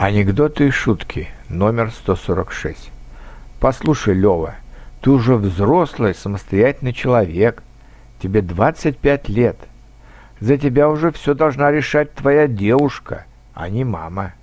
Анекдоты и шутки номер 146. Послушай, Лёва, ты уже взрослый, самостоятельный человек. Тебе 25 лет. За тебя уже все должна решать твоя девушка, а не мама.